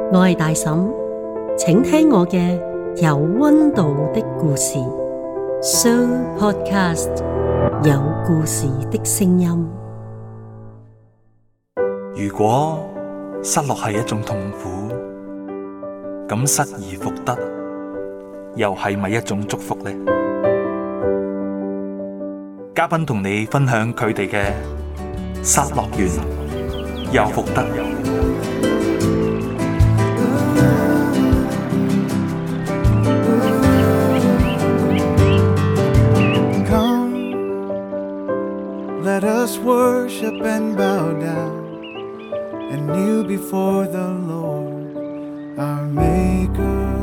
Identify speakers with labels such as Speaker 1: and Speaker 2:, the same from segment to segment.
Speaker 1: 我係大嬸，請聽我嘅有溫度的故事。Show Podcast 有故事的聲音。
Speaker 2: 如果失落係一種痛苦，咁失而復得，又係咪一種祝福呢？嘉賓同你分享佢哋嘅失落完又復得。
Speaker 3: Let us worship and bow down and kneel before the Lord, our Maker.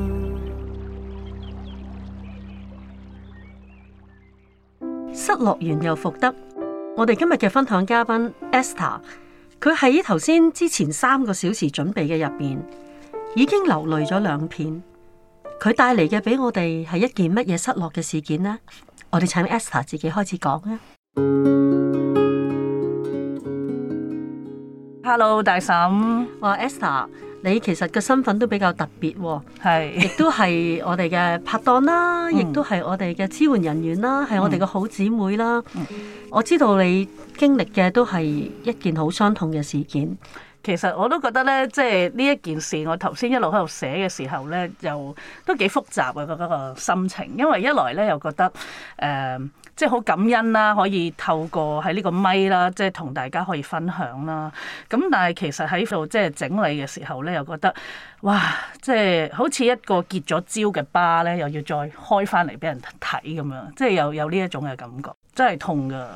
Speaker 1: 失落完又復得。我哋今日嘅分享嘉賓 Esther， 佢喺頭先之前3個小時準備嘅入邊，已經流淚咗2片。佢帶嚟嘅俾我哋係一件乜嘢失落嘅事件呢？我哋請 Esther 自己開始講啊。
Speaker 4: Hello， 大嬸。
Speaker 1: 哇 Esther， 你其實個身份都比較特別喎，
Speaker 4: 係，
Speaker 1: 亦都係我哋嘅拍檔啦，亦都係我哋嘅支援人員啦，係我哋嘅好姊妹啦。我知道你經歷嘅都係一件好傷痛嘅事件。
Speaker 4: 其實我都覺得咧，即係呢一件事，我頭先一路喺度寫嘅時候咧，又都幾複雜嘅嗰個心情。因為一來咧又覺得即係好感恩啦，可以透過喺呢個咪啦，即係同大家可以分享啦。咁但係其實喺度即係整理嘅時候咧，又覺得哇，即係好似一個結咗焦嘅疤咧，又要再開翻嚟俾人睇咁樣，即係有呢一種嘅感覺，真係痛㗎。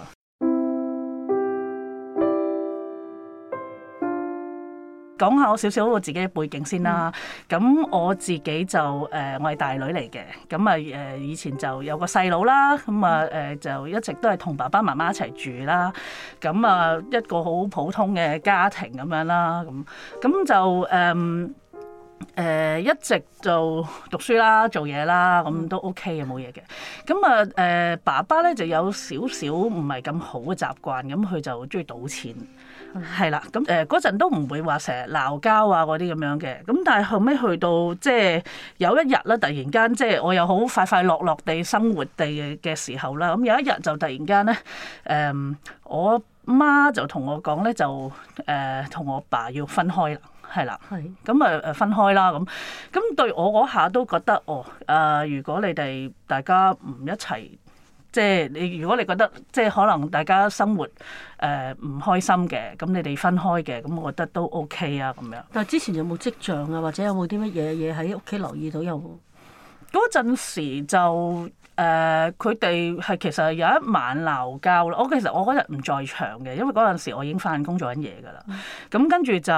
Speaker 4: 講下我少少我自己嘅背景先啦。咁我自己就我係大女嚟嘅。咁啊以前就有個細佬啦。咁啊就一直都係同爸爸媽媽一齊住啦。咁啊一個好普通嘅家庭咁樣啦。咁就一直就讀書啦、做嘢啦，咁都 OK 嘅，冇嘢嘅。咁啊爸爸咧就有少少唔係咁好嘅習慣，咁佢就中意賭錢。係啦，咁嗰陣都唔會話成日鬧交啊嗰啲咁樣嘅，咁但係後尾去到即係有一日咧，突然間即係我又好快快樂樂地生活地嘅時候啦，咁有一日就突然間咧，我媽就同我講咧，就同我爸要分開啦，係啦，咁啊分開啦，咁對我嗰下都覺得如果你哋大家唔一齊。即係你，如果你覺得即係可能大家生活唔開心嘅，咁你哋分開嘅，咁我覺得都 OK 啊咁樣。
Speaker 1: 但係之前有冇跡象啊，或者有冇啲乜嘢喺屋企留意到有冇？
Speaker 4: 嗰陣時就佢哋係其實有一晚鬧交啦。其實我嗰日唔在場嘅，因為嗰陣時我已經返工做緊嘢㗎啦。咁跟住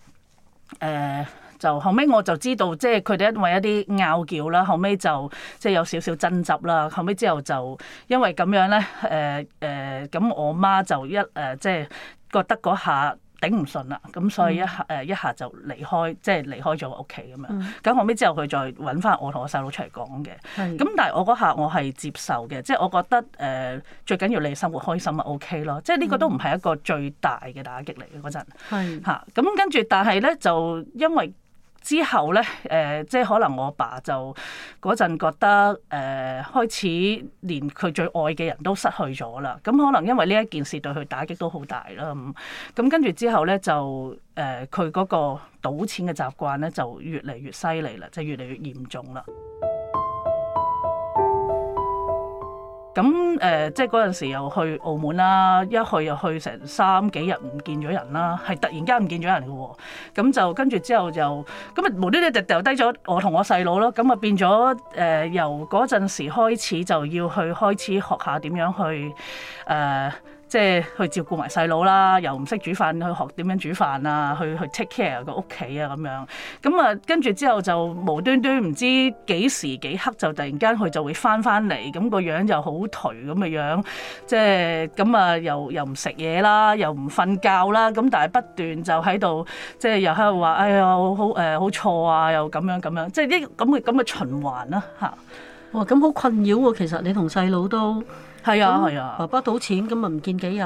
Speaker 4: 就後尾我就知道，即係佢哋因為一啲拗撬啦，後尾就即係有少少爭執啦。後尾之後就因為咁樣咧，咁我媽就即係覺得嗰下頂唔順啦，咁所以一下就離開，即係離開咗屋企咁樣。咁後尾之後佢再揾翻我同我細佬出嚟講嘅。咁但係我嗰下我係接受嘅，即係我覺得最緊要你生活開心啊 OK 咯，即係呢個都唔係一個最大嘅打擊嚟嘅嗰陣。嚇，咁跟住但係咧就因為之後咧，即係可能我爸就嗰陣覺得開始連佢最愛嘅人都失去咗啦。咁可能因為呢一件事對佢打擊都好大啦。咁跟住之後咧，就佢嗰個賭錢嘅習慣咧就越嚟越犀利啦，就越嚟越嚴重啦。咁即係嗰陣時又去澳門啦，一去又去成3幾日唔見咗人啦，係突然間唔見咗人嘅喎。咁就跟住之後就咁啊無端端就掉低咗我同我細佬咯。咁啊變咗由嗰陣時開始就要去開始學下點樣去即係去照顧埋細佬啦，又唔識煮飯，去學點樣煮飯啊，去 take care 個屋企啊咁樣。咁啊跟住之後就無端端唔知幾時幾刻就突然間佢就會翻嚟，咁個樣就好頹咁嘅樣，即係咁啊又唔食嘢啦，又唔瞓覺啦，咁但係不斷就喺度即係又喺度話哎呀好錯啊，又咁樣，即係啲咁嘅循環啦嚇。
Speaker 1: 哇，咁好困擾喎！其實你同細佬都
Speaker 4: 係啊，
Speaker 1: 爸爸賭錢咁啊唔見幾日，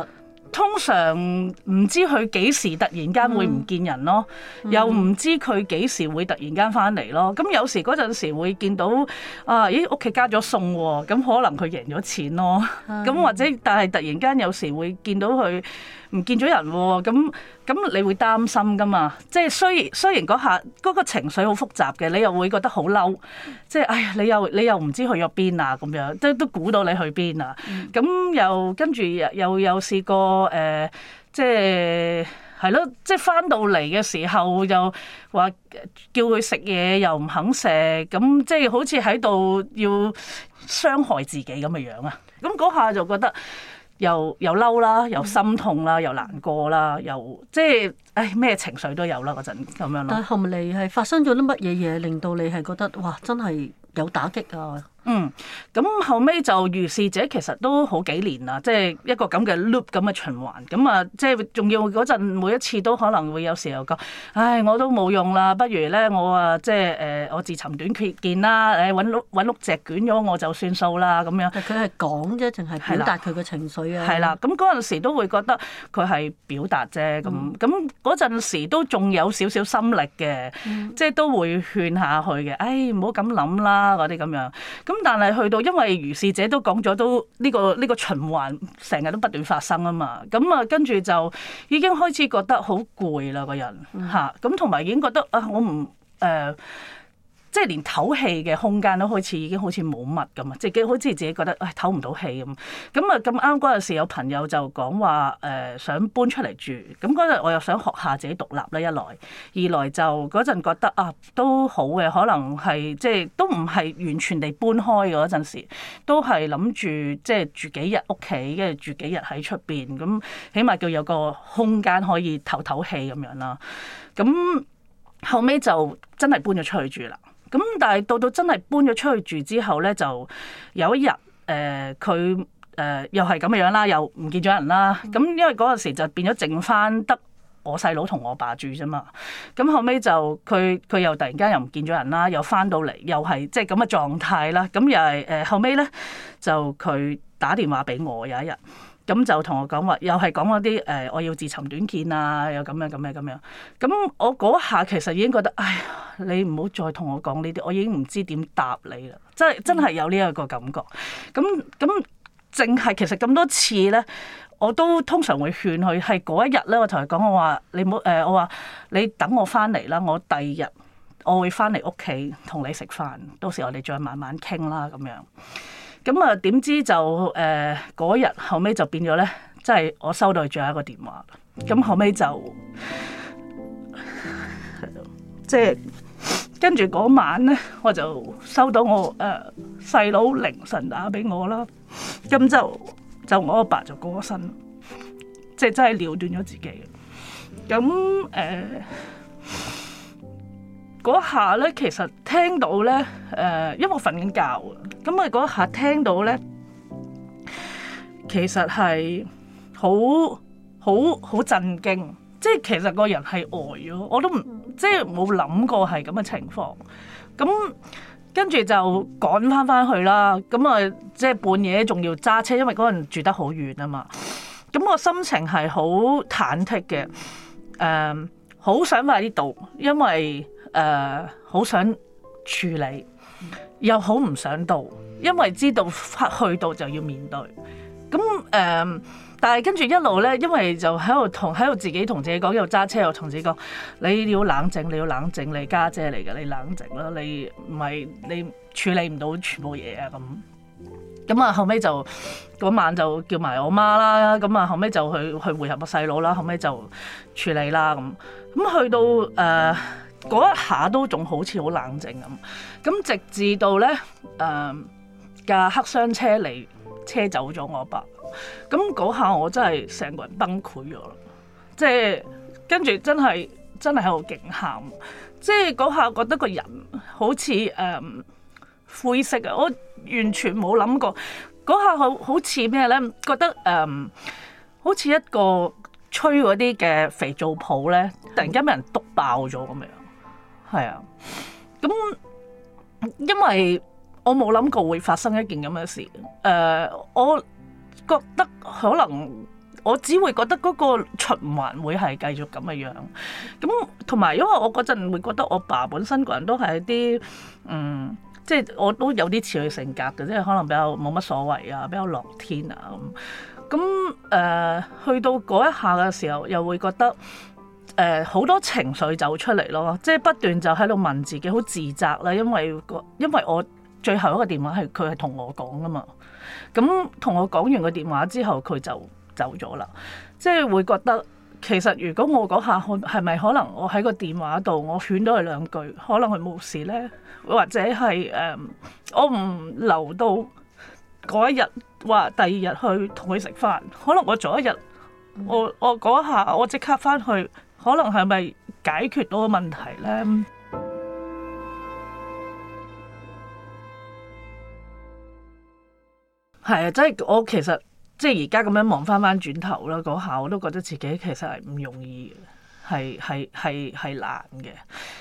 Speaker 4: 通常唔知佢幾時突然間會唔見人咯，又唔知佢幾時會突然間翻嚟咯。咁有時嗰陣時會見到咦屋企加咗餸喎，咁可能佢贏咗錢咯。咁或者但係突然間有時會見到佢唔見咗人喎，咁你會擔心噶嘛？即係雖然嗰下嗰個情緒好複雜嘅，你又會覺得好嬲，即係哎呀你又唔知去咗邊啊咁樣，即係都估到你去邊啊。咁又跟住又試過即係咯，即係翻到嚟嘅時候又話叫佢食嘢又唔肯食，咁即係好似喺度要傷害自己咁嘅樣啊！咁嗰下就覺得又嬲啦，又心痛啦，又難過啦，又即係咩情緒都有啦嗰陣咁樣咯。
Speaker 1: 但係後嚟係發生咗啲乜嘢嘢，令到你係覺得哇真係有打擊啊？
Speaker 4: 咁後尾就如是者其實都好幾年啦，即係一個咁嘅 loop 咁嘅循環。咁啊，即係仲要嗰陣每一次都可能會有時候講，唉，我都冇用啦，不如咧我啊即係我自尋短見啦，揾碌隻捲咗我就算數啦咁樣。
Speaker 1: 佢係講啫，淨係表達佢嘅情緒啊。
Speaker 4: 係啦，咁嗰陣時都會覺得佢係表達啫，咁嗰陣時都仲有少少心力嘅，即係都會勸下去嘅，唉唔好咁諗啦嗰啲咁樣。咁但係去到，因為如是者都講咗，都呢個循環成日都不斷發生啊嘛。咁啊，跟住就已經開始覺得好攰啦，個人嚇。咁同埋已經覺得我唔即係連唞氣嘅空間都開始已經好似冇乜咁啊！即係好似自己覺得唞唔到氣咁。咁啊咁啱嗰陣時有朋友就講話想搬出嚟住。咁嗰陣我又想學下自己獨立啦，一來，二來就嗰陣覺得都好嘅，可能係即係都唔係完全地搬開嗰陣時，都係諗住即係住幾日屋企，跟住住幾日喺出邊，咁起碼叫有個空間可以唞氣咁樣啦。咁後尾就真係搬咗出去住啦。咁但係到真係搬咗出去住之後咧，就有一日佢又係咁嘅樣啦，又唔見咗人啦。咁因為嗰陣時就變咗剩翻得我細佬同我爸住啫嘛。咁後尾就佢又突然間又唔見咗人啦，又翻到嚟又係即係咁嘅狀態啦。咁又係後尾咧就佢打電話俾我有一日。咁就同我講話，又係講嗰啲我要自尋短見啊，又咁樣。咁我嗰下其實已經覺得，唉，你唔好再同我講呢啲，我已經唔知點答你啦。真係有呢一個感覺。咁淨係其實咁多次咧，我都通常會勸佢，係嗰一日咧，我同佢講，我話你唔好我話你等我翻嚟啦，我第二日我會翻嚟屋企同你食飯，到時我哋再慢慢傾啦咁樣。咁啊，點知就嗰日後尾就變咗咧，即係我收到佢最後一個電話。咁後尾就即係跟住嗰晚咧，我就收到我細佬凌晨打俾我啦。咁就我阿爸就過咗身，即係真係了斷咗自己。咁嗰下咧，其實聽到咧，因為我瞓緊覺啊，咁啊嗰下聽到咧，其實係好震驚，即係其實個人係呆咗，我都唔即係冇諗過係咁嘅情況。咁跟住就趕翻去啦，咁啊即係半夜仲要揸車，因為嗰陣住得好遠啊嘛。咁我心情係好忐忑嘅，好想快啲到，因為好想處理，又好唔想到，因為知道去到就要面對。咁但係跟住一路咧，因為就喺度自己同自己講，又揸車又同自己講，你要冷靜，你家姐嚟嘅，你冷靜啦，你唔係你處理唔到全部嘢啊咁。咁啊後尾就嗰晚就叫埋我媽啦，咁啊後尾就去會合我細佬啦，後尾就處理啦咁。咁去到嗰一下都仲好似好冷靜咁，直至到咧架黑箱車嚟車走咗我爸，咁嗰下我真係成個人崩潰咗啦，即係跟住真係喺度勁喊，即係嗰下覺得個人好似灰色啊，我完全冇諗過嗰下好似咩咧？覺得好似一個吹嗰啲嘅肥皂泡咧，突然間俾人篤爆咗咁樣。係啊，咁因為我冇諗過會發生一件咁嘅事，我覺得可能我只會覺得嗰個循環會係繼續咁嘅樣。咁同埋因為我嗰陣會覺得我爸本身個人都係一啲即係我都有啲似佢性格嘅，即係可能比較冇乜所謂啊，比較樂天啊咁。咁去到嗰一下嘅時候，又會覺得好多情緒走出嚟咯，即係不斷就喺度問自己，好自責啦，因為我最後一個電話係佢係同我講噶嘛。咁同我講完個電話之後，佢就走咗啦。即係會覺得其實如果我嗰下係咪可能我喺個電話度我勸咗佢兩句，可能佢冇事咧，或者係我唔留到嗰一日話第二日去同佢食飯，可能我早一日我嗰下我即刻翻去，可能係咪解決到個問題咧？係啊，即係我其實即係而家咁樣望翻轉頭啦，嗰下我都覺得自己其實係唔容易嘅，係難嘅。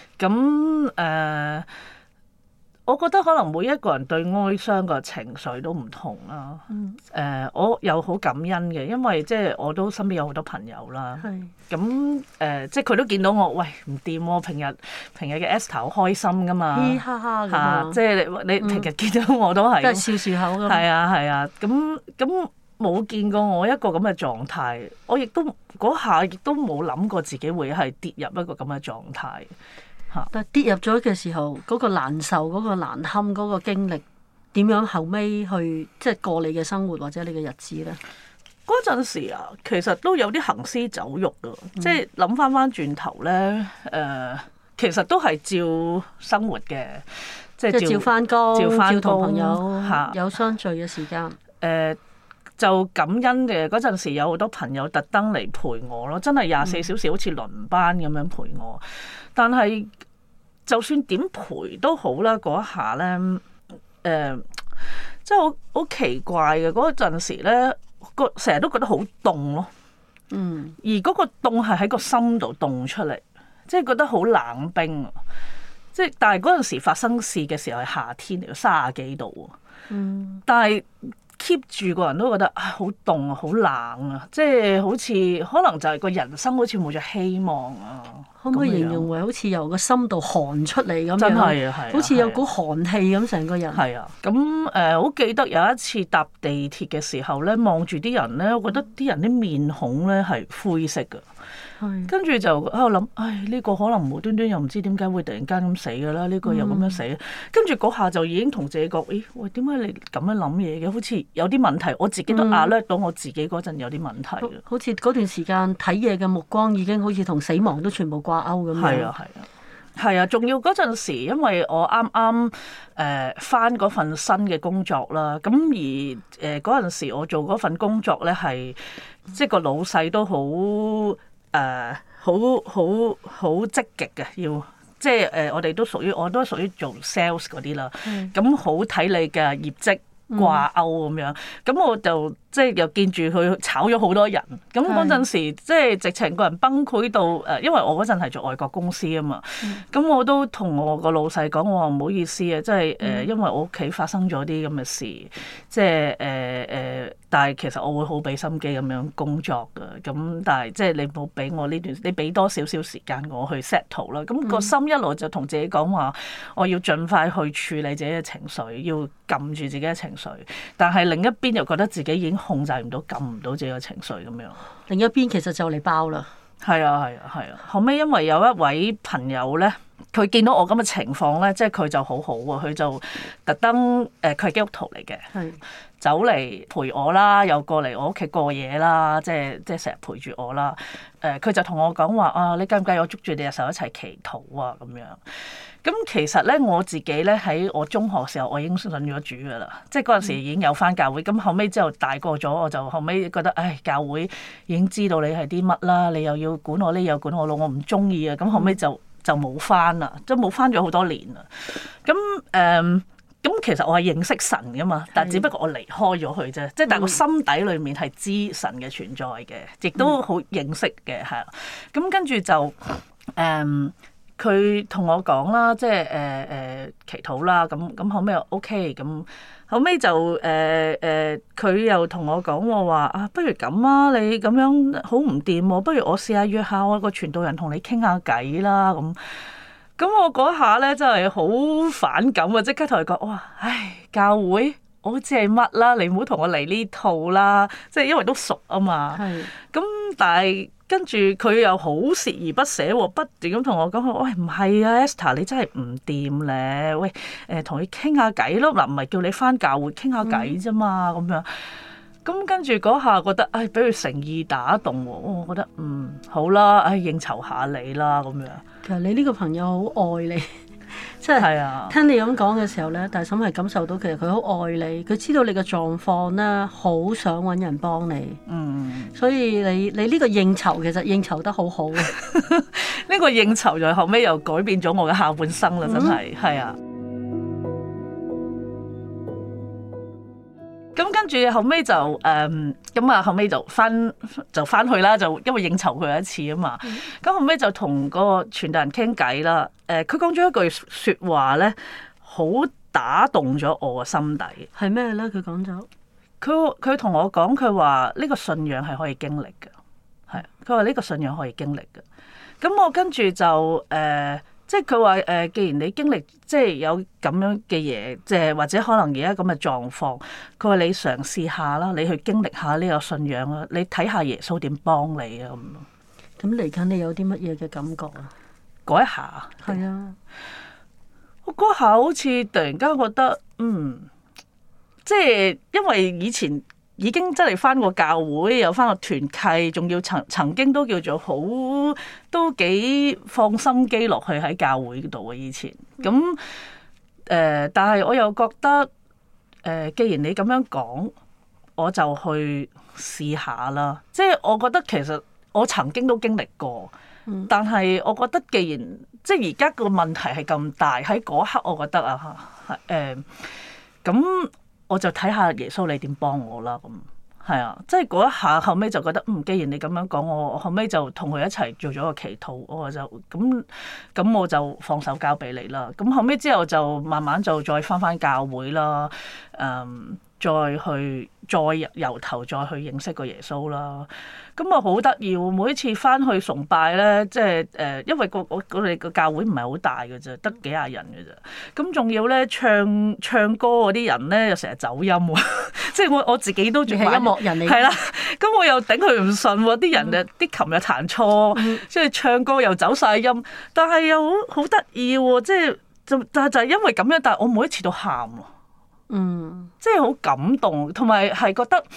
Speaker 4: 咁我覺得可能每一個人對哀傷個情緒都唔同啦。我又好感恩嘅，因為即係我都身邊有好多朋友啦。咁即係佢都見到我，喂唔掂喎，平日嘅 Esther 好開心噶嘛，
Speaker 1: 嘻哈哈咁啊，
Speaker 4: 即係你平日見到我都係，
Speaker 1: 都係笑笑口咁。
Speaker 4: 係啊，咁冇見過我一個咁嘅狀態，我亦都嗰下亦都冇諗過自己會係跌入一個咁嘅狀態。
Speaker 1: 但係跌入咗嘅時候，嗰個難受、嗰個難堪、嗰個經歷，點樣後尾去即係過你嘅生活或者你嘅日子咧？
Speaker 4: 嗰陣時啊，其實都有啲行屍走肉㗎，即係諗翻轉頭咧，其實都係照生活嘅，即係照翻工，照同朋友
Speaker 1: 有相聚嘅時間。
Speaker 4: 就感恩嘅嗰陣時，有好多朋友特登嚟陪我咯，真係24小時好似輪班咁樣陪我。但係就算點陪都好啦，嗰一下咧，即係好奇怪嘅嗰陣時咧，成日都覺得好凍咯。而嗰個凍係喺個心度凍出嚟，即係覺得好冷冰。即係但係嗰陣時發生事嘅時候係夏天嚟，30幾度。但係keep 住個人都覺得好凍啊，好冷啊，即係好似可能就係個人生好似冇咗希望啊。
Speaker 1: 可唔可以形容為好似由個心度寒出嚟咁樣？
Speaker 4: 真係啊，
Speaker 1: 好似有股寒氣咁成個人。
Speaker 4: 係啊，咁好記得有一次搭地鐵嘅時候咧，望住啲人咧，我覺得啲人啲面孔咧係灰色㗎。跟住就喺度諗，呢個可能無端端又唔知點解會突然間咁死㗎啦，呢個又咁樣死。跟住嗰下就已經同自己講，喂，點解你咁樣諗嘢嘅？好似有啲問題，我自己都alert到我自己嗰陣有啲問題。
Speaker 1: 好似嗰段時間睇嘢嘅目光已經好似同死亡都全部掛鈎咁樣。係啊，仲要嗰陣時，因為我啱啱返嗰份新嘅工作啦，咁而嗰陣時我做嗰份工作咧係，即係個老細都好積極嘅，要即係我都屬於做 sales 嗰啲啦，咁好睇你嘅業績掛鈎咁樣，咁我就即係又見住佢炒咗好多人，咁嗰陣時即係直情個人崩潰到因為我嗰陣係做外國公司啊嘛，咁我都同我個老細講，我話唔好意思啊，即係因為我屋企發生咗啲咁嘅事，即係但係其實我會好俾心機咁樣工作㗎，咁但係即係你冇俾我呢段，你俾多少少時間我去 settle 啦，咁個心一路就同自己講話，我要盡快去處理自己嘅情緒，要撳住自己嘅情緒，但係另一邊又覺得自己已經控制唔到、撳唔到自己嘅情緒咁樣。 另一邊其實就嚟爆啦。
Speaker 4: 係啊。後尾因為有一位朋友咧，佢見到我咁嘅情況咧，即係佢就好好喎，佢就特登佢係基督徒嚟嘅，走嚟陪我啦，又過嚟我屋企過夜啦，即係成日陪住我啦。佢就同我講話你介唔介意我捉住你隻手一齊祈禱啊咁樣。咁其實咧我自己咧喺我中學時候我已經信咗主噶啦，即係嗰陣時已經有返教會。咁後尾之後大個咗，我就後尾覺得教會已經知道你係啲乜啦，你又要管我呢又管我咯，我唔中意啊。咁後尾就冇返啦，即係冇返咗好多年啦。咁其實我係認識神噶嘛，但係只不過我離開咗佢啫，即係但係個心底裏面係知神嘅存在嘅，亦都好認識嘅係。咁跟住就佢同我講啦，即係祈禱啦，咁後尾又 OK，咁後尾就佢又同我講，我話啊，不如咁啊，你咁樣好唔掂喎，不如我試下約下我個傳道人同你傾下偈啦咁。咁我嗰下咧真係好反感啊！即刻同佢講，哇，唉，教會我知係乜啦，你唔好同我嚟呢套啦，即係因為都熟啊嘛。
Speaker 1: 係。
Speaker 4: 咁但係跟住佢又好鍥而不捨喎，不斷咁同我講，喂，唔係啊 Esther 你真係唔掂咧，喂，同你傾下偈咯，嗱，唔係叫你返教會傾下偈啫嘛，咁樣。咁跟住嗰下覺得，唉，俾佢誠意打動喎，我覺得好啦，唉，應酬下你啦咁樣。
Speaker 1: 其實你呢個朋友好愛你，即係聽你咁講嘅時候咧，大嬸係感受到其實佢好愛你，佢知道你嘅狀況咧，好想揾人幫你。所以你呢個應酬其實應酬得好好啊！
Speaker 4: 呢個應酬就後尾又改變咗我嘅下半生啦，真係係啊！咁跟住後尾就咁啊，後尾就翻去啦，就因為應酬佢一次啊嘛。咁後尾就同個傳道人傾偈啦。佢講咗一句説話咧，好打動咗我嘅心底。
Speaker 1: 係咩咧？佢講咗，
Speaker 4: 佢同我講，佢話呢個信仰係可以經歷嘅，係佢話呢個信仰可以經歷嘅。咁我跟住就即係佢話既然你經歷即係有咁樣嘅嘢，即係或者可能而家咁嘅狀況，佢話你嘗試下啦，你去經歷下呢個信仰啦，你睇下耶穌點幫你啊咁。
Speaker 1: 咁嚟緊你有啲乜嘢嘅感覺啊？
Speaker 4: 嗰一下
Speaker 1: 係啊，
Speaker 4: 我嗰下好似突然間覺得即係因為以前已經真係返過教會，有返個團契，仲要曾經都叫做都幾放心機落去喺教會度啊！以前咁但係我又覺得既然你咁樣講，我就去試下啦。即係我覺得其實我曾經都經歷過，但係我覺得既然即係而家個問題係咁大，喺嗰刻我覺得咁。我就睇下耶穌你點幫我啦，咁係啊，即係嗰一下後尾就覺得既然你咁樣講，我後尾就同佢一齊做咗個祈禱，我就咁我就放手交俾你啦。咁後尾之後就慢慢就再返教會啦，再由頭再去認識個耶穌啦。咁啊好得意喎！每一次翻去崇拜咧，即係因為我哋個教會唔係好大嘅啫，得幾廿人嘅啫。咁仲要咧唱歌嗰啲人咧，又成日走音喎。即係我自己都仲係
Speaker 1: 音樂人嚟，
Speaker 4: 係啦。咁我又頂佢唔順喎，啲人啲琴又彈錯，即係唱歌又走晒音，但係又好得意喎。即係就係因為咁樣，但係我每一次都喊喎。即係好感動，同埋係覺得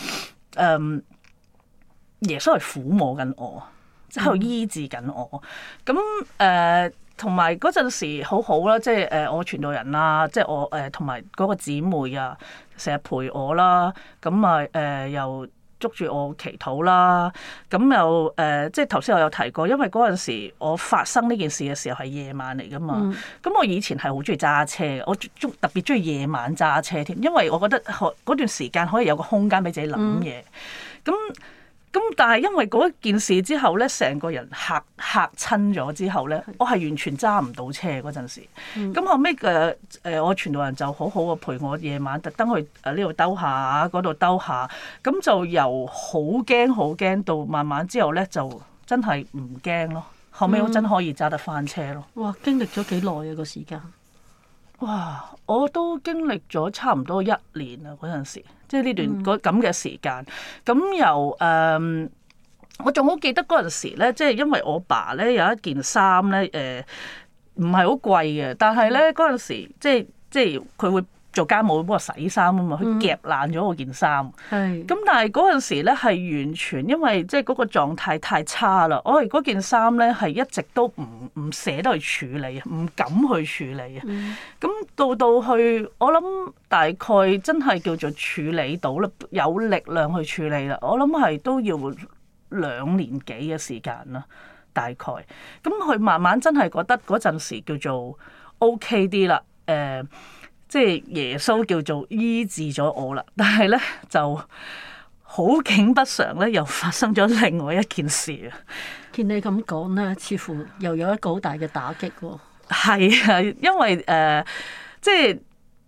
Speaker 4: 耶穌係撫摸緊我，即係喺度醫治緊我。咁同埋嗰陣時好好啦，即係我傳道人啦，即係我同埋嗰個姊妹啊，成日陪我啦。咁啊又捉住我祈禱啦。咁又即係頭先我有提過，因為嗰陣時我發生呢件事嘅時候係夜晚嚟噶嘛。咁我以前係好中意揸車嘅，我特別中意夜晚揸車添，因為我覺得嗰段時間可以有個空間俾自己諗嘢。咁但係因為嗰件事之後咧，成個人嚇親咗之後咧，我係完全揸唔到車嗰陣時。咁後尾我傳道人就好好啊，陪我夜晚特登去呢度兜下，嗰度兜下。咁就由好驚到慢慢之後咧，就真係唔驚咯。後尾我真可以揸得返車咯。
Speaker 1: 哇！經歷咗幾耐啊個時間？
Speaker 4: 哇！我都經歷咗差唔多1年啊嗰陣時。即係呢段咁嘅時間，咁由我仲好記得嗰陣時咧，即係因為我爸咧有一件衫咧，唔係好貴嘅，但係咧嗰陣時即係佢會做家務幫我洗衫啊嘛，佢夾爛咗我件衫。咁但係嗰陣時咧係完全因為即係嗰個狀態太差啦，我哋嗰件衫咧係一直都唔捨得去處理，唔敢去處理啊。咁到去我諗大概真係叫做處理到啦，有力量去處理啦。我諗係都要2年幾嘅時間啦，大概。咁佢慢慢真係覺得嗰陣時叫做 OK 啲啦，即係耶穌叫做醫治咗我啦，但係咧就好景不常咧，又發生咗另外一件事啊！
Speaker 1: 見你咁講咧，似乎又有一個好大嘅打擊喎。
Speaker 4: 係啊，因為即係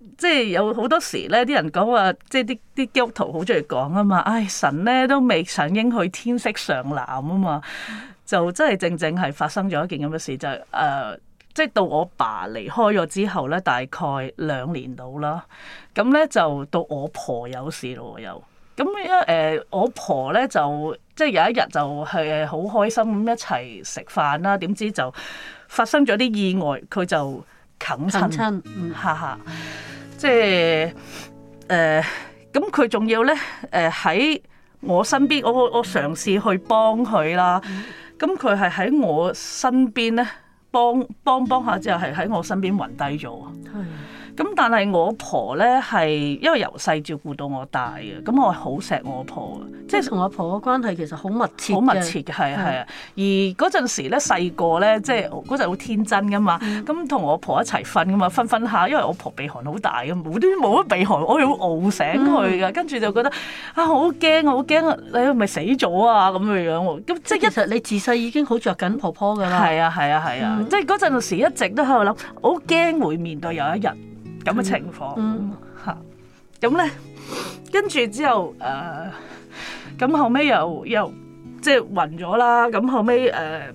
Speaker 4: 即係有好多時咧，啲人講話，即係啲基督徒好中意講啊嘛，唉，神咧都未上應去天色尚藍啊嘛，就真係正係發生咗一件咁嘅事，就係即係到我爸離開咗之後咧，大概2年到啦，咁咧就到我婆有事咯又。咁我婆咧就即係有一日就係好開心咁一齊食飯啦，點知就發生咗啲意外，佢就啃親，哈哈，即係咁佢仲要咧喺我身邊，我嘗試去幫佢啦，咁佢係喺我身邊咧幫下之後係喺我身邊暈低咗。咁但係我婆咧係因為由細照顧到我大嘅，咁我好錫我婆嘅，
Speaker 1: 即係同我婆嘅關係其實好密切，
Speaker 4: 好密切嘅，係啊。而嗰陣時咧細個咧，即係嗰陣好天真噶嘛，咁同我婆一齊瞓噶嘛，瞓下，因為我婆鼻鼾好大嘅，冇乜鼻鼾，我要熬醒佢嘅，跟住就覺得好驚，你係咪死咗啊咁嘅樣喎？咁即係
Speaker 1: 其實你自細已經好着緊婆婆㗎啦。
Speaker 4: 係啊，即係嗰陣時一直都喺度諗，好驚會面對有一日咁嘅情況嚇，咁咧跟住之後咁後尾又即係暈咗啦，咁後尾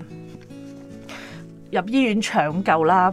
Speaker 4: 入醫院搶救啦，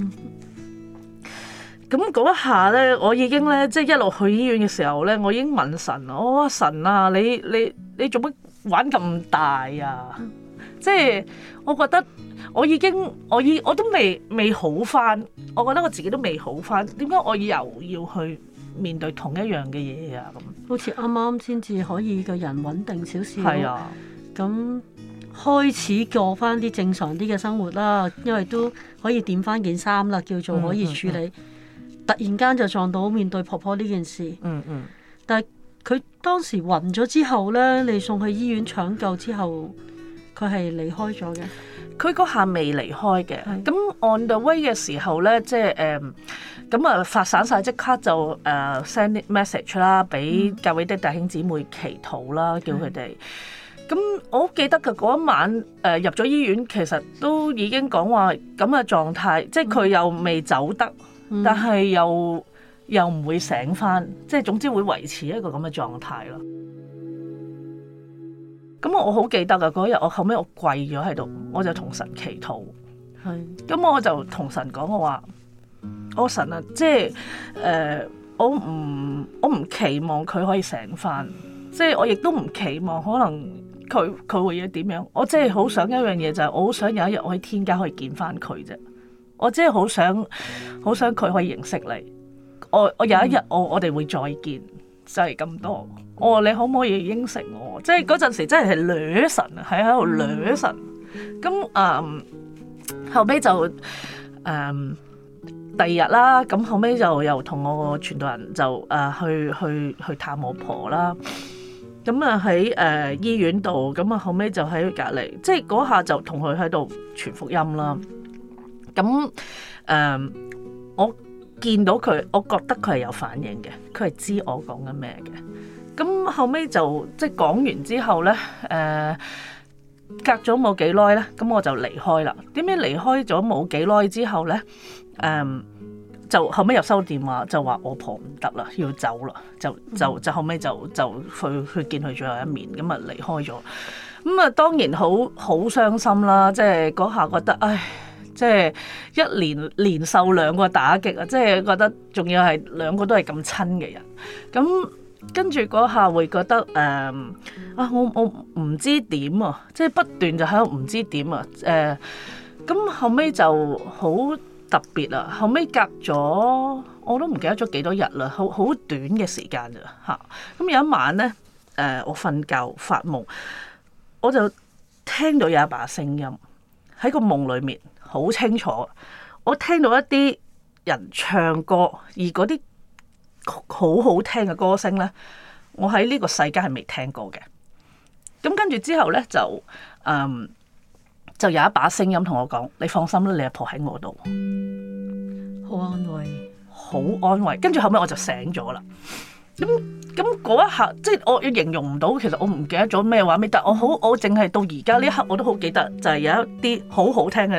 Speaker 4: 咁嗰一下咧，我已經咧即係一路去醫院嘅時候咧，我已經問神，我話神啊，你做乜玩咁大啊？即係我覺得。我都未好翻，我覺得我自己都未好翻，點解我又要去面對同一樣嘅嘢啊？咁
Speaker 1: 好似啱啱先至可以個人穩定少少，
Speaker 4: 係啊，
Speaker 1: 咁開始過翻啲正常啲嘅生活啦，因為都可以掂翻件衫啦，叫做可以處理。突然間就撞到面對婆婆呢件事，但係佢當時暈咗之後咧，你送去醫院搶救之後，佢係離開咗嘅。
Speaker 4: 佢嗰下未離開嘅，咁 on the way 嘅時候咧，即係咁啊發散晒，即刻就send message 啦，俾教會的弟兄姊妹祈禱啦，叫佢哋。咁我好記得嘅嗰一晚入咗醫院，其實都已經講話咁嘅狀態，即係佢又未走得，但係又唔會醒返，即係總之會維持一個咁嘅狀態咯。咁我好記得啊！嗰日我後尾我跪咗喺度，我就同神祈禱。咁我就同神講，我話：我神啊，即係我唔期望佢可以醒返，即係我亦都唔期望可能佢會要點樣。我即係好想一樣嘢，就係我好想有一日我喺天家可以見返佢啫。我即係好想佢可以認識你。我有一日我哋會再見。就係咁多，我話你可唔可以應承我？即係嗰陣時真係掠神啊，喺度掠神。咁後尾就第二日啦，咁後尾就又同我個傳道人就去探我婆啦。咁啊喺醫院度，咁啊後尾就喺隔離，即係嗰下就同佢喺度傳福音啦。咁我見到佢，我覺得佢係有反應嘅，佢係知我講緊咩嘅。咁後尾就即係講完之後咧，隔咗冇幾耐咧，咁我就離開啦。點解離開咗冇幾耐之後咧？就後尾又收電話，就話我婆唔得啦，要走啦，就後尾就去見佢最後一面，咁啊離開咗。咁啊當然好傷心啦，即係嗰下覺得唉。即係一連受2個打擊啊！即係覺得仲要係2個都係咁親嘅人，咁跟住嗰下會覺得我唔知點啊！即係不斷就喺度唔知點啊！咁後尾就好特別啊！後尾隔咗我都唔記得咗幾多日啦，好短嘅時間咋嚇！咁有一晚咧，我瞓覺發夢，我就聽到有一把聲音喺個夢裏面。好清楚，我聽到一啲人唱歌，而嗰啲好好聽嘅歌聲咧，我喺呢個世界係未聽過嘅。咁跟住之後咧，就有一把聲音同我講：你放心啦，你阿婆喺我度，
Speaker 1: 好安慰，
Speaker 4: 好安慰。跟住後尾我就醒咗啦。咁嗰一下，即係我形容唔到，其實我唔記得咗咩畫面，但我淨係到而家呢一刻我都好記得，就係有一啲好好聽嘅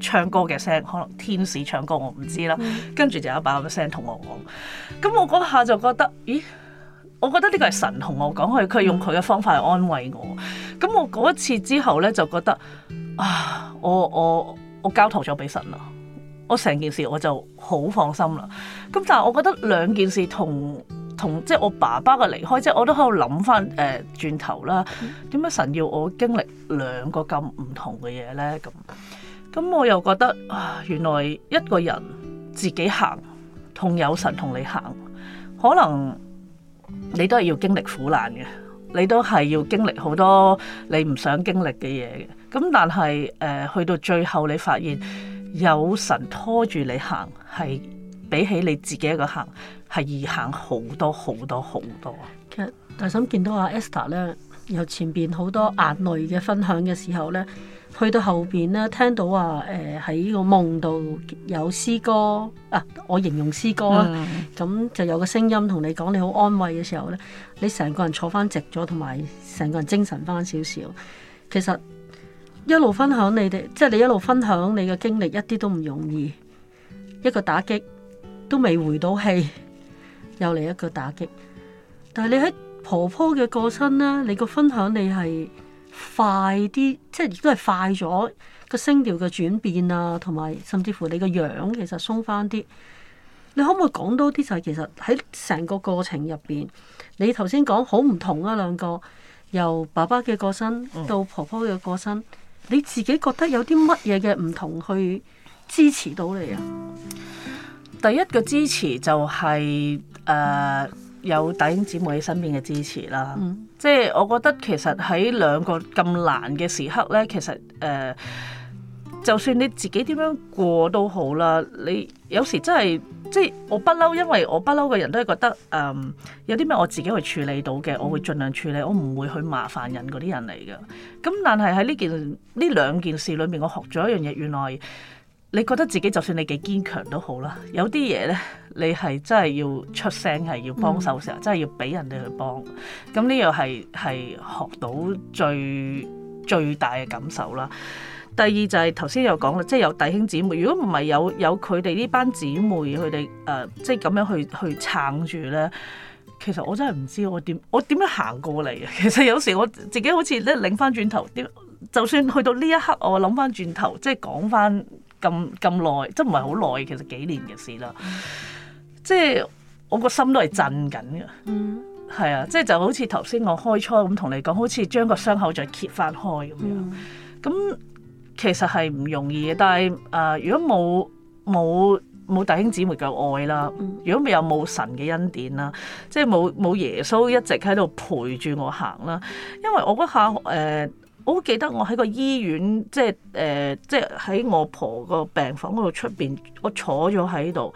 Speaker 4: 唱歌嘅聲，可能天使唱歌我唔知啦。跟住就有一把咁嘅聲同我講，咁我嗰下就覺得，咦？我覺得呢個係神同我講，佢用佢嘅方法去安慰我。咁我嗰一次之後咧，就覺得啊，我交託咗俾神啦，我成件事我就好放心啦。咁但係我覺得兩件事同即係我爸爸嘅離開，即係我都喺度諗翻轉頭啦，點解神要我經歷兩個咁唔同嘅嘢咧？咁我又覺得啊，原來一個人自己行同有神同你行，可能你都係要經歷苦難嘅，你都係要經歷好多你唔想經歷嘅嘢嘅。咁但係去到最後你發現有神拖住你行，係比起你自己一個行係易行好多好多好多。
Speaker 1: 其實大嬸見到阿 Esther 咧，由前邊好多眼淚嘅分享嘅時候咧，去到後邊咧，聽到話喺個夢度有詩歌啊，我形容詩歌啦，咁就有個聲音同你講你好安慰嘅時候咧，你成個人坐翻直咗，同埋成個人精神翻少少。其實一路分享你哋，即係你一路分享你嘅經歷，一啲都唔容易。一個打擊都未回到氣，又嚟一個打擊。但係你喺婆婆嘅過身咧，你個分享你係快啲，即係亦都係快咗個聲調嘅轉變啊，同埋甚至乎你個樣其實鬆翻啲。你可唔可以講多啲？就係其實喺成個過程入邊，你頭先講好唔同啊，兩個由爸爸嘅過身到婆婆嘅過身，你自己覺得有啲乜嘢嘅唔同去支持到你啊？
Speaker 4: 第一個支持就係有弟兄姊妹喺身邊嘅支持啦。即係我覺得其實喺兩個咁難嘅時刻咧，其實就算你自己點樣過都好啦，你有時真係即係我不嬲，因為我不嬲嘅人都係覺得有啲咩我自己去處理到嘅，我會盡量處理，我唔會去麻煩人嗰啲人嚟嘅。咁但係喺呢兩件事裏面，我學咗一樣嘢，原來你覺得自己就算你幾堅強都好啦，有啲嘢咧，你係真係要出聲，係要幫手嘅時候，真係要俾人哋去幫。咁呢樣係學到最大嘅感受啦。第二就係頭先有講啦，即係有弟兄姊妹，如果唔係有佢哋呢班姊妹，佢哋即係咁樣去撐住咧，其實我真係唔知我點樣行過嚟嘅。其實有時我自己好似咧擰翻轉頭，就算去到呢一刻，我諗翻轉頭，即係講翻咁耐，即係唔係好耐，其實幾年嘅事啦。即係我個心都係震緊嘅。係啊，即係就好似頭先我開初咁同你講，好似將個傷口再揭翻開咁樣。咁其實係唔容易嘅，但係如果冇弟兄姊妹嘅愛啦，如果冇神嘅恩典啦，即係冇耶穌一直喺度陪住我行啦。因為我嗰下我好記得我喺個醫院，即係喺我婆個病房嗰度出邊，我坐咗喺度，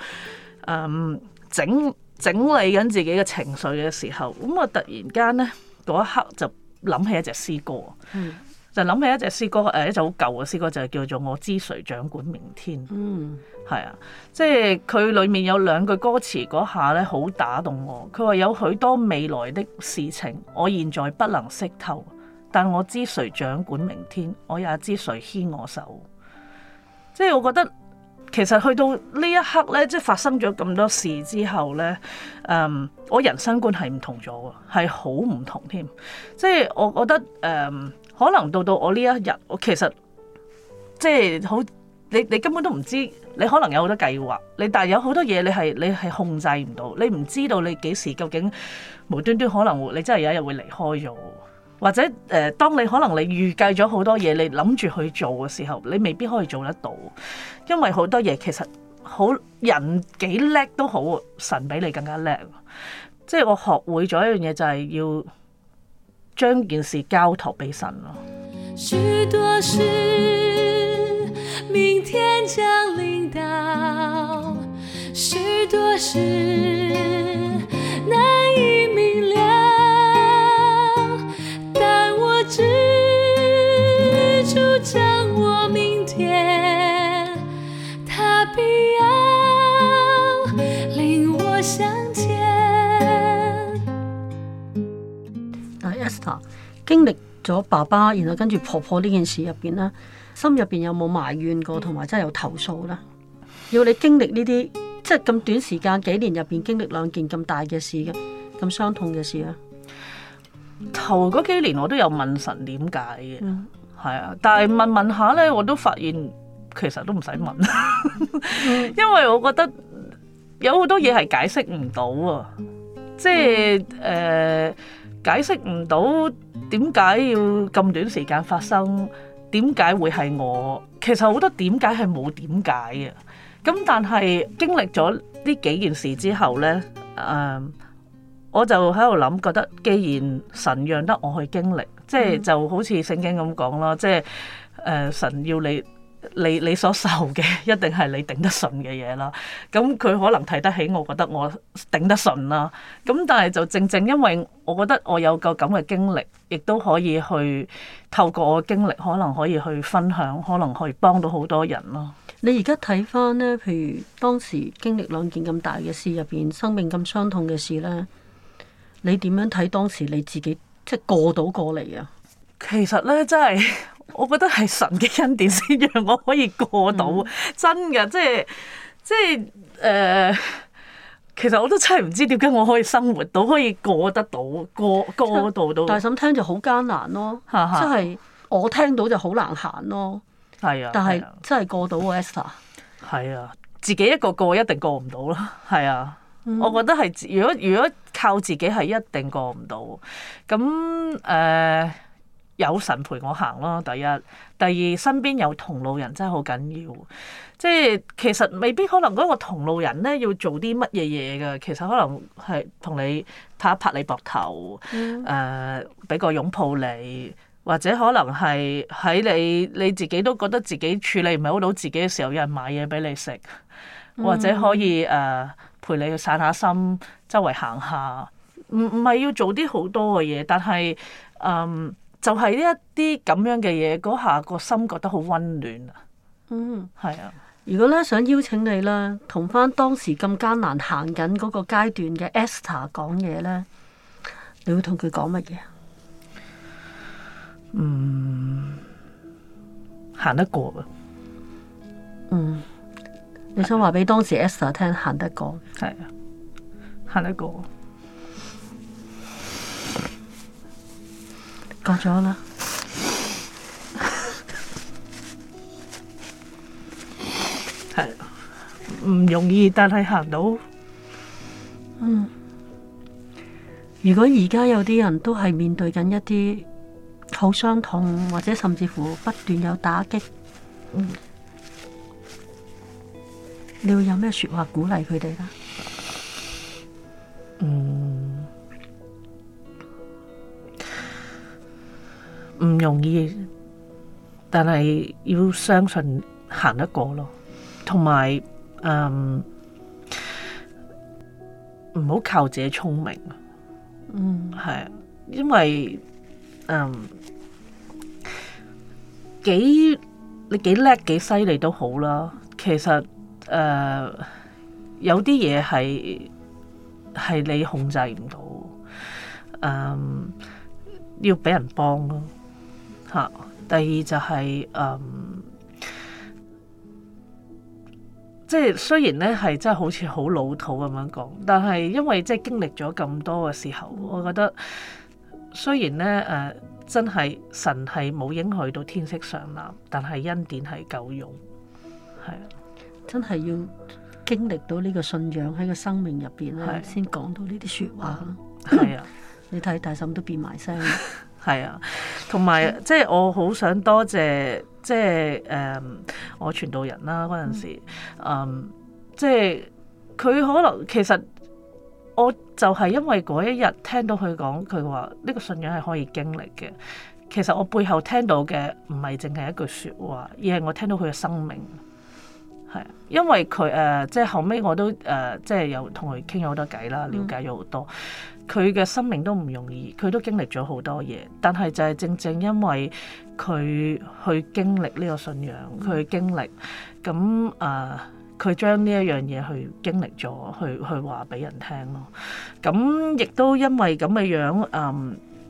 Speaker 4: 整理緊自己嘅情緒嘅時候，咁我突然間咧嗰一刻就諗起一隻詩歌。就諗起一隻詩歌，一隻好舊嘅詩歌，就係叫做《我知誰掌管明天》。係啊，即係佢裡面有兩句歌詞嗰下咧，好打動我。佢話有許多未來的事情，我現在不能識透，但我知誰掌管明天，我也知誰牽我手。即係我覺得其實去到呢一刻咧，即係發生咗咁多事之後咧，我人生觀係唔同咗嘅，係好唔同添。即係我覺得可能到我呢一日，我其實即係好，你根本都唔知，你可能有好多計劃，但係有好多嘢你係控制唔到，你唔知道你幾時究竟無端端可能你真係有一日會離開咗，或者當你可能你預計咗好多嘢，你諗住去做嘅時候，你未必可以做得到，因為好多嘢其實好人幾叻都好，神比你更加叻。即係我學會咗一樣嘢，就係要將件事交託俾神咯。
Speaker 5: 許多事明天將臨到，許多事難以明了，但我知主掌握明天，他必要領我向前。
Speaker 1: Esther 經歷咗爸爸，然後跟住婆婆呢件事入邊咧， 心入邊有冇埋怨過，同埋真係有投訴咧？要你經歷呢啲，即係咁短時間幾年入邊經歷兩件咁大嘅事嘅，咁傷痛嘅事咧？
Speaker 4: 頭嗰幾年我都有問神點解嘅，係啊，但係問下咧，我都發現其實都唔使問，因為我覺得有好多嘢係解釋唔到啊，即係解釋唔到點解要咁短時間發生，點解會係我？其實好多點解係冇點解嘅。咁但係經歷咗呢幾件事之後咧，我就喺度諗，覺得既然神讓得我去經歷，即係就好似聖經咁講啦，即係神要你所受嘅一定係你頂得順嘅嘢啦。咁佢可能睇得起我，覺得我頂得順啦。咁但係就正因為我覺得我有個咁嘅經歷，亦都可以去透過我嘅經歷，可能可以去分享，可能可以幫到好多人咯。
Speaker 1: 你而家睇翻咧，譬如當時經歷兩件咁大嘅事入邊，生命咁傷痛嘅事咧，你點樣睇當時你自己即係過嚟啊？
Speaker 4: 其實咧，真係我覺得係神嘅恩典先讓我可以過到，真嘅，即係其實我都真係唔知點解我可以生活到，可以過得到，過到。
Speaker 1: 大嬸聽就好艱難咯，即係我聽到就好難行咯。
Speaker 4: 係啊，
Speaker 1: 但係真係過到喎 Esther。
Speaker 4: 係啊，自己一個過一定過唔到啦。係啊，我覺得係如果靠自己係一定過唔到。咁有神陪我行咯，第一，第二身邊有同路人真係好緊要。即係其實未必可能嗰個同路人咧要做啲乜嘢嘢㗎，其實可能係同你拍一拍你膊頭，俾個擁抱你。或者可能係喺你自己都覺得自己處理唔係好到自己嘅時候，有人買嘢俾你食，或者可以陪你去散下心，周圍行下，唔係要做啲好多嘅嘢，但係就係呢一啲咁樣嘅嘢，嗰下個心覺得好溫暖啊。係啊。
Speaker 1: 如果咧想邀請你咧，同翻當時咁艱難行緊嗰個階段嘅 Esther 講嘢咧，你會同佢講乜嘢？
Speaker 4: 行得過啊！
Speaker 1: 你想話俾當時 Esther 聽行得過？
Speaker 4: 係啊，行得過。
Speaker 1: 過咗啦。
Speaker 4: 係啊，唔容易，但係行到。
Speaker 1: 如果而家有啲人都係面對緊一啲好傷痛，或者甚至乎不斷有打擊，你會有咩說話鼓勵佢哋咧？
Speaker 4: 唔容易，但係要相信行得過咯，同埋唔好靠自己聰明。係啊，因為你幾叻幾犀利都好啦，其實有啲嘢係你控制唔到，要俾人幫咯嚇。第二就係即係雖然咧係真係好似好老土咁樣講，但係因為即係經歷咗咁多嘅時候，我覺得雖然咧真係神係冇應許到天色常藍，但係恩典係夠用，係啊，
Speaker 1: 真係要經歷到呢個信仰喺個生命入邊咧，先講到呢啲說話咯。
Speaker 4: 係啊，
Speaker 1: 你睇大嬸都變埋聲。
Speaker 4: 係啊，同埋即係我好想多謝即係我傳道人啦嗰陣時，即係佢可能其實我就係因為嗰一日聽到佢講，佢話呢個信仰係可以經歷嘅。其實我背後聽到嘅唔係淨係一句説話，而係我聽到佢嘅生命。係，因為佢即係後尾我都即係有同佢傾咗好多偈啦，了解咗好多。佢嘅生命都唔容易，佢都經歷咗好多嘢。但係就係正因為佢去經歷呢個信仰，佢去經歷咁佢將呢一樣嘢去經歷咗，去話俾人聽咯。咁亦都因為咁嘅樣，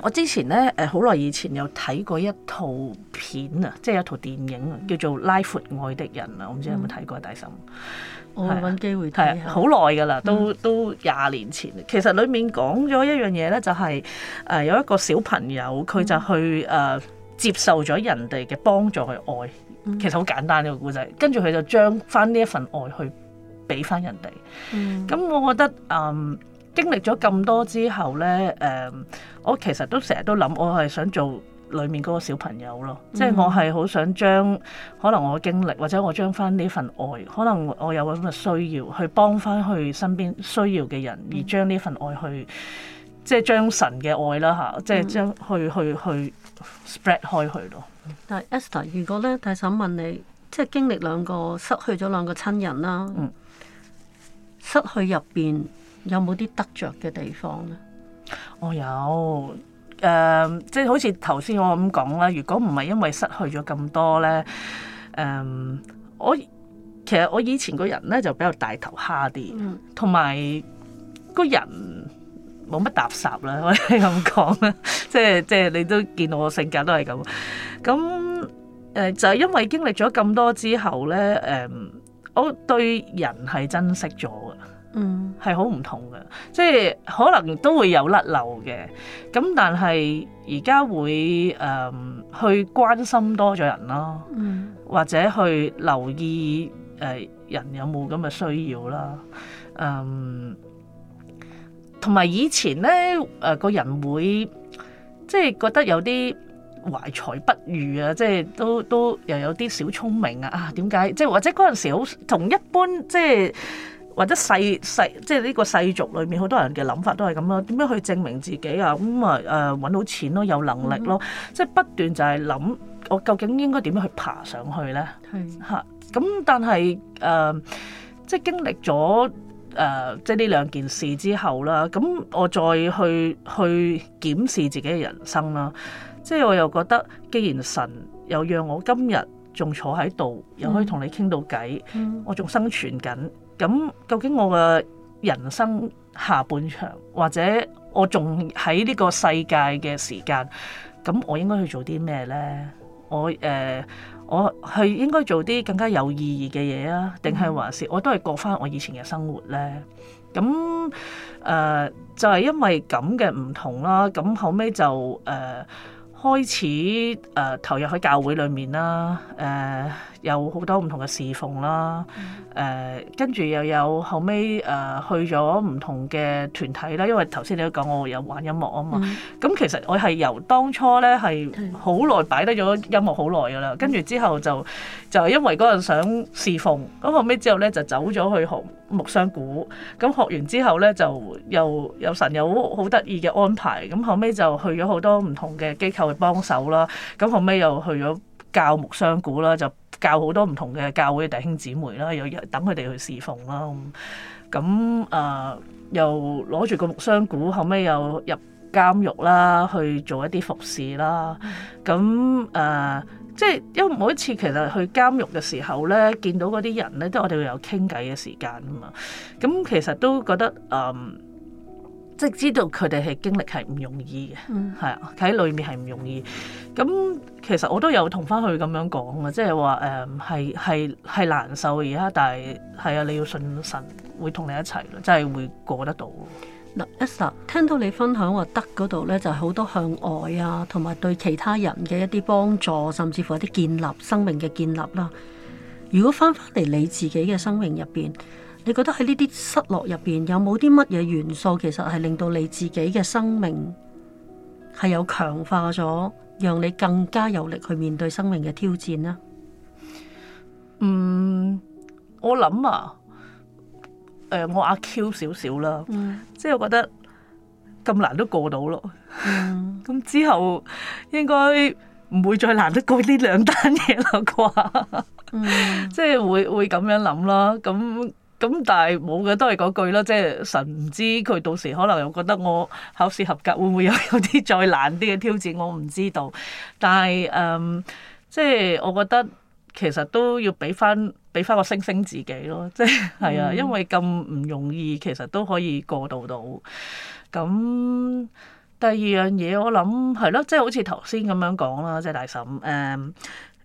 Speaker 4: 我之前咧好耐以前有睇過一套片啊，即係一套電影啊，叫做《拉闊愛的人》啊，我唔知有冇睇過大嬸。
Speaker 1: 我會揾機會睇下。
Speaker 4: 好耐㗎啦，都20年前。其實裡面講咗一樣嘢咧，就係有一個小朋友佢就去接受咗人哋嘅幫助去愛，其實好簡單呢個故仔。跟住佢就將翻呢一份愛去俾翻人哋。咁我覺得經歷咗咁多之後咧，我其實都成日都諗，我係想做裏面嗰個小朋友咯，即係我係好想將可能我嘅經歷，或者我將翻呢份愛，可能我有咁嘅需要，去幫翻去身邊需要嘅人，而將呢份愛去，即係將神嘅愛啦嚇，即係將去 spread 開去咯。
Speaker 1: 但係 Esther， 如果咧大嬸問你，即係經歷失去咗兩個親人啦，失去入邊有冇啲得着嘅地方咧？
Speaker 4: 我有。即係好似頭先我咁講啦，如果唔係因為失去咗咁多咧，其實我以前個人咧就比較大頭蝦啲，同埋個人冇乜搭霎啦，可以咁講啦。即係你都見到我性格都係咁。咁就係因為經歷咗咁多之後咧，我對人係珍惜咗嘅。係好唔同嘅，即係可能都會有甩漏嘅，咁但係而家會去關心多咗人咯，或者去留意人有冇咁嘅需要啦，同埋以前咧個人會即係覺得有啲懷才不遇啊，即係都又有啲小聰明啊，點解即係或者嗰陣時好同一般即係。或者世即係呢個世俗裏面好多人嘅諗法都係咁咯，點樣去證明自己啊？咁揾到錢咯，有能力咯，即係不斷就係諗我究竟應該點樣去爬上去咧？嚇咁，但係即係經歷咗即係呢兩件事之後啦，咁我再去檢視自己嘅人生啦，即係我又覺得，既然神又讓我今日仲坐喺度，又可以同你傾到偈，我仲生存緊。咁究竟我嘅人生下半場，或者我仲喺呢個世界嘅時間，咁我應該去做啲咩咧？我係應該做啲更加有意義嘅嘢啊，定係還是我都係過翻我以前嘅生活咧？咁就係因為咁嘅唔同啦，咁後尾就開始投入喺教會裏面啦，有好多唔同嘅侍奉啦，跟住又有後尾去咗唔同嘅團體啦，因為頭先你都講我有玩音樂啊嘛，咁其實我係由當初咧係好耐擺低咗音樂好耐噶啦，跟住之後就係因為嗰陣想侍奉，咁後尾之後咧就走咗去學木箱鼓，咁學完之後咧就又有神有好得意嘅安排，咁後尾就去咗好多唔同嘅機構去幫手啦，咁後尾又去咗教木箱鼓啦，就教好多唔同嘅教會嘅弟兄姊妹啦，又等佢哋去侍奉啦，咁又攞住個木箱鼓，後尾又入監獄啦，去做一啲服侍啦，咁即係因為每一次其實去監獄嘅時候咧，見到嗰啲人咧，都我哋會有傾偈嘅時間啊嘛。咁其實都覺得即係知道佢哋係經歷係唔容易嘅，係啊，喺裏面係唔容易。咁其實我都有同翻佢咁樣講啊，即係話係難受而家，但係係啊，你要信神會同你一齊咯，真係會過得到。
Speaker 1: 嗱 Esther 聽到你分享話德嗰度咧，就係好多向外啊，同埋對其他人嘅一啲幫助，甚至乎一啲建立生命嘅建立啦。如果翻返嚟你自己嘅生命入邊，你覺得喺呢啲失落入邊有冇啲乜嘢元素，其實係令到你自己嘅生命係有強化咗，讓你更加有力去面對生命嘅挑戰呢？
Speaker 4: 我諗啊。我阿 Q 少少啦，即係我覺得咁難都過到咯。咁之後應該唔會再難得過呢兩單嘢啦啩。即係會咁樣諗啦。咁但係冇嘅，都係嗰句啦。即係神唔知佢到時可能又覺得我考試合格，會唔會有啲再難啲嘅挑戰，我唔知道。但係即係我覺得其實都要俾翻個星星自己咯，即係啊，因為咁唔容易，其實都可以過渡到。咁第二樣嘢我諗係咯，即係好似頭先咁樣講啦，即係大嬸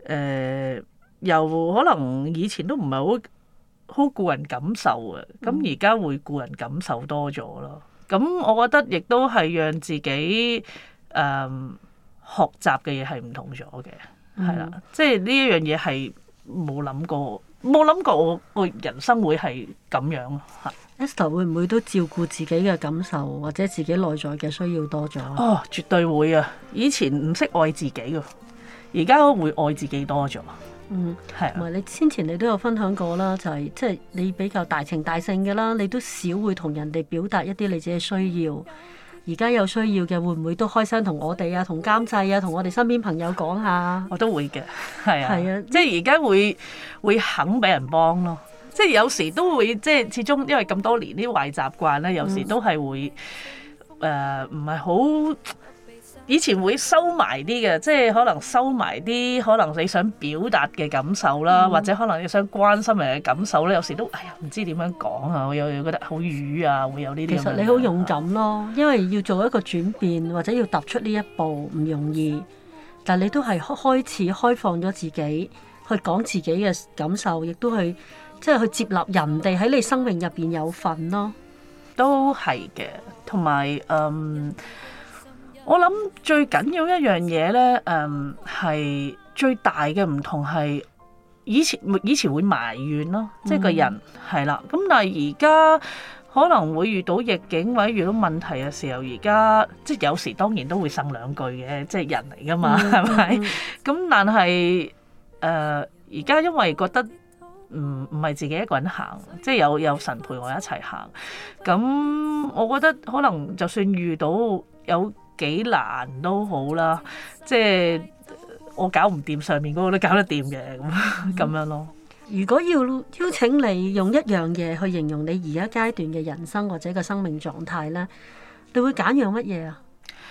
Speaker 4: 又可能以前都唔係好顧人感受嘅，咁而家會顧人感受多咗咯。咁我覺得亦都係讓自己學習嘅嘢係唔同咗嘅，係啦，即係呢一樣嘢係冇諗過我人生會係咁樣咯。
Speaker 1: Esther 會唔會都照顧自己嘅感受或者自己內在嘅需要多咗？
Speaker 4: 哦，絕對會啊！以前唔識愛自己㗎，而家會愛自己多咗。係啊。
Speaker 1: 同埋你先前你都有分享過啦，就係即係你比較大情大性嘅啦，你都少會同人哋表達一啲你自己需要。而家有需要嘅，會唔會都開聲同我哋啊、同監製啊、同我哋身邊朋友講下？
Speaker 4: 我都會嘅，係啊，
Speaker 1: 係啊，
Speaker 4: 即係而家會肯俾人幫咯。即係有時都會，即係始終因為咁多年啲壞習慣咧，有時都係會唔係好。以前會收埋啲嘅，即係可能收埋啲可能你想表達嘅感受啦，或者可能你想關心人嘅感受咧，有時都唔知點樣講啊，我又覺得好瘀啊，會有呢啲。
Speaker 1: 其實你好勇敢咯，因為要做一個轉變或者要踏出呢一步唔容易，但係你都係開始開放咗自己去講自己嘅感受，亦都去即係去接納人哋喺你生命入邊有份咯。
Speaker 4: 都係嘅，同埋我諗最緊要一樣嘢咧，係最大嘅唔同係以前會埋怨咯，即係個人係啦。咁但係而家可能會遇到逆境或者遇到問題嘅時候，而家即係有時當然都會呻兩句嘅，即係人嚟噶嘛，係咪？咁但係而家因為覺得唔係自己一個人行，即係有神陪我一齊行。咁我覺得可能就算遇到有幾難都好啦，即係我搞唔掂，上面嗰個都搞得掂嘅，咁樣咯。
Speaker 1: 如果要邀請你用一樣嘢去形容你而家階段嘅人生或者個生命狀態咧，你會揀樣乜嘢啊？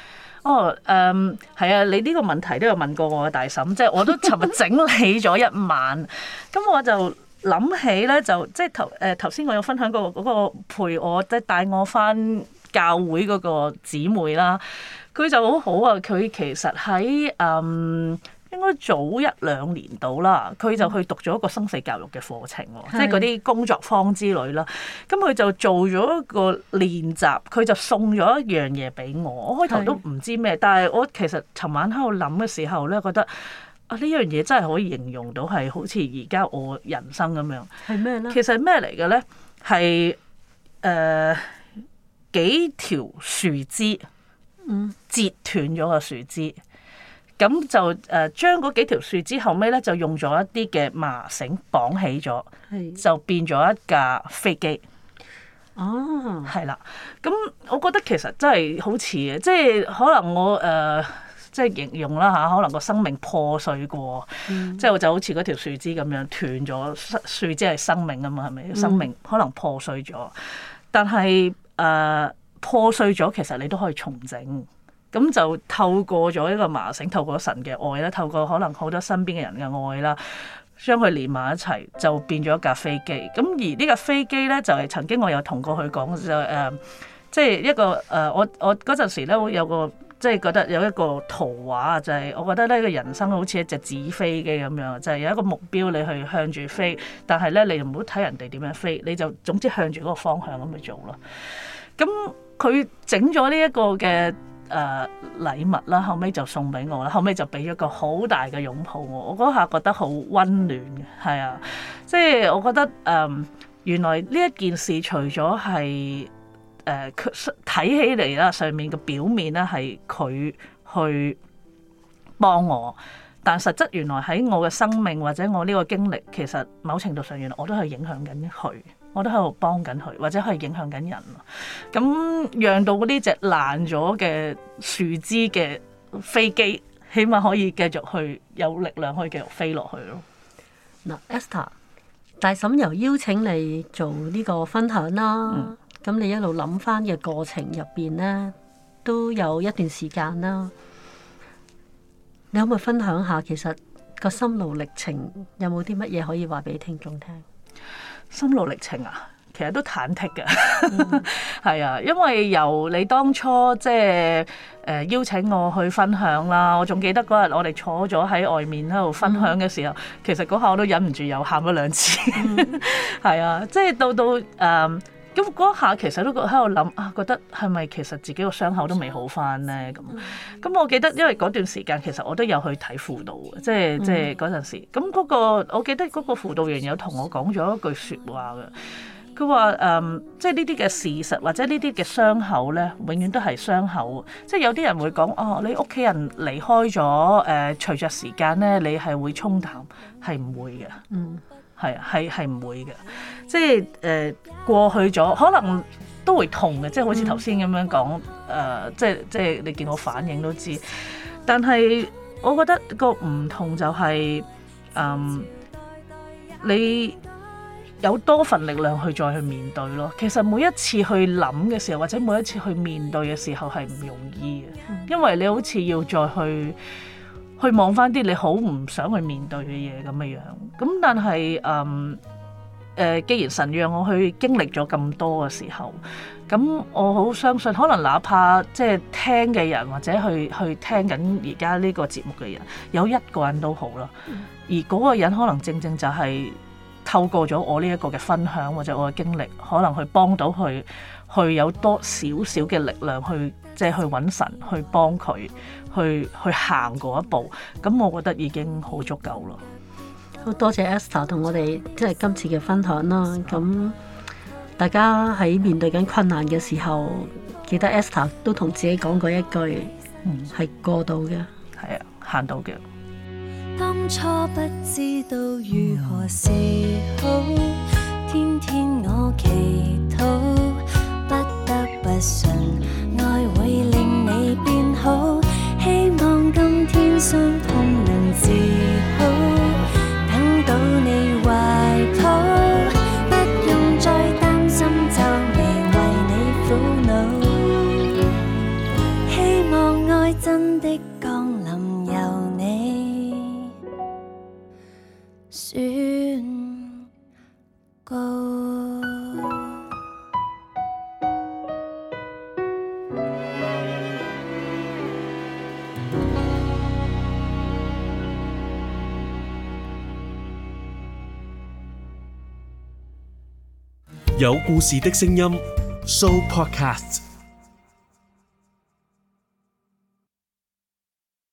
Speaker 4: 係啊，你呢個問題都有問過我嘅大嬸，即係我都尋日整理咗一晚，咁我就諗起咧，就即係頭先我有分享過嗰個陪我即係帶我返教會嗰個姊妹啦，佢就好好啊！佢其實喺應該早1-2年到啦，佢就去讀咗一個生死教育嘅課程喎，即係嗰啲工作坊之類啦。咁佢就做咗一個練習，佢就送咗一樣嘢俾我。我開頭都唔知咩，但係我其實尋晚喺度諗嘅時候咧，覺得呢樣嘢真係可以形容到係好似而家我人生咁樣。
Speaker 1: 係咩咧？
Speaker 4: 其實咩嚟嘅咧？係幾條樹枝，截斷咗個樹枝，咁就將嗰幾條樹枝後尾咧就用咗一啲嘅麻繩綁起咗，就變咗一架飛機。
Speaker 1: 哦，係
Speaker 4: 啦，咁我覺得其實真係好似嘅，即係可能我即係形容啦嚇，可能個生命破碎過，即係就好似嗰條樹枝咁樣斷咗，樹枝係生命啊嘛，係咪？生命可能破碎咗，但係破碎咗，其實你都可以重整。咁就透過咗一個麻繩，透過神嘅愛啦，透過可能好多身邊嘅人嘅愛啦，將佢連埋一齊，就變咗一架飛機。咁而呢架飛機咧，就係曾經我有同過佢講，就即係一個我嗰陣時咧，有個即係覺得有一個圖畫，就係我覺得呢個人生好似一隻紙飛機咁樣，就係有一個目標你去向住飛，但係咧你唔好睇人哋點樣飛，你就總之向住嗰個方向咁去做咯。咁佢整咗呢一個嘅禮物啦，後尾就送俾我啦，後尾就俾咗個好大嘅擁抱我，我嗰下覺得好溫暖嘅，係啊，即係我覺得原來呢一件事除咗係睇起嚟啦，上面嘅表面咧係佢去幫我，但實質原來喺我嘅生命或者我呢個經歷，其實某程度上原來我都係影響緊佢。我都喺度幫緊佢，或者係影響緊人。咁讓到呢隻爛咗嘅樹枝嘅飛機，起碼可以繼續去有力量，可以繼續飛落去咯。
Speaker 1: 嗱，Esther，大嬸又邀請你做呢個分享啦。咁你一路諗翻嘅過程入邊咧，都有一段時間啦。你可唔可以分享下，其實個心路歷程有冇啲乜嘢可以話俾聽眾聽？
Speaker 4: 心路歷程啊， 其實都忐忑嘅，係啊，因為由你當初即係邀請我去分享啦，我仲記得嗰日我哋坐咗喺外面喺度分享嘅時候，其實嗰下我都忍唔住又喊咗2次，係啊，即係到咁嗰下其實都喺度諗啊，覺得係咪其實自己個傷口都未好翻咧？咁我記得因為嗰段時間其實我都有去睇輔導嘅，即係嗰陣時。咁嗰個我記得嗰個輔導員有同我講咗一句説話嘅，佢話即係呢啲嘅事實或者呢啲嘅傷口咧，永遠都係傷口。即係有啲人會講哦，你屋企人離開咗隨着時間咧，你係會沖淡，係唔會嘅。係唔會嘅，即係過去咗，可能都會痛嘅，即係好似頭先咁樣講，即係你見我反應都知。但係我覺得個唔同就係、你有多份力量去再去面對咯。其實每一次去諗嘅時候，或者每一次去面對嘅時候係唔容易嘅，因為你好似要再去望翻啲你好唔想去面對嘅嘢咁嘅樣，咁但係既然神讓我去經歷咗咁多嘅時候，咁我好相信，可能哪怕即係聽嘅人或者去聽緊而家呢個節目嘅人，有一個人都好啦，而嗰個人可能正正就係透過咗我呢一個嘅分享或者我嘅經歷，可能去幫到佢，去有多少少嘅力量去即係去揾神去幫佢。去行嗰一步，咁我覺得已經好足夠咯。
Speaker 1: 好多謝 Esther 同我哋即係今次嘅分享啦。咁大家喺面對緊困難嘅時候，記得 Esther 都同自己講過一句，係過到嘅，
Speaker 4: 係啊，行到嘅。
Speaker 5: 當初不知道如何是好，天天我祈禱，不得不信愛會令你變好。希望今天傷痛能治好，等到你懷抱，不用再擔心就未為你苦惱。希望愛真的降臨由你宣告。
Speaker 6: 有故事的聲音 Show Podcast。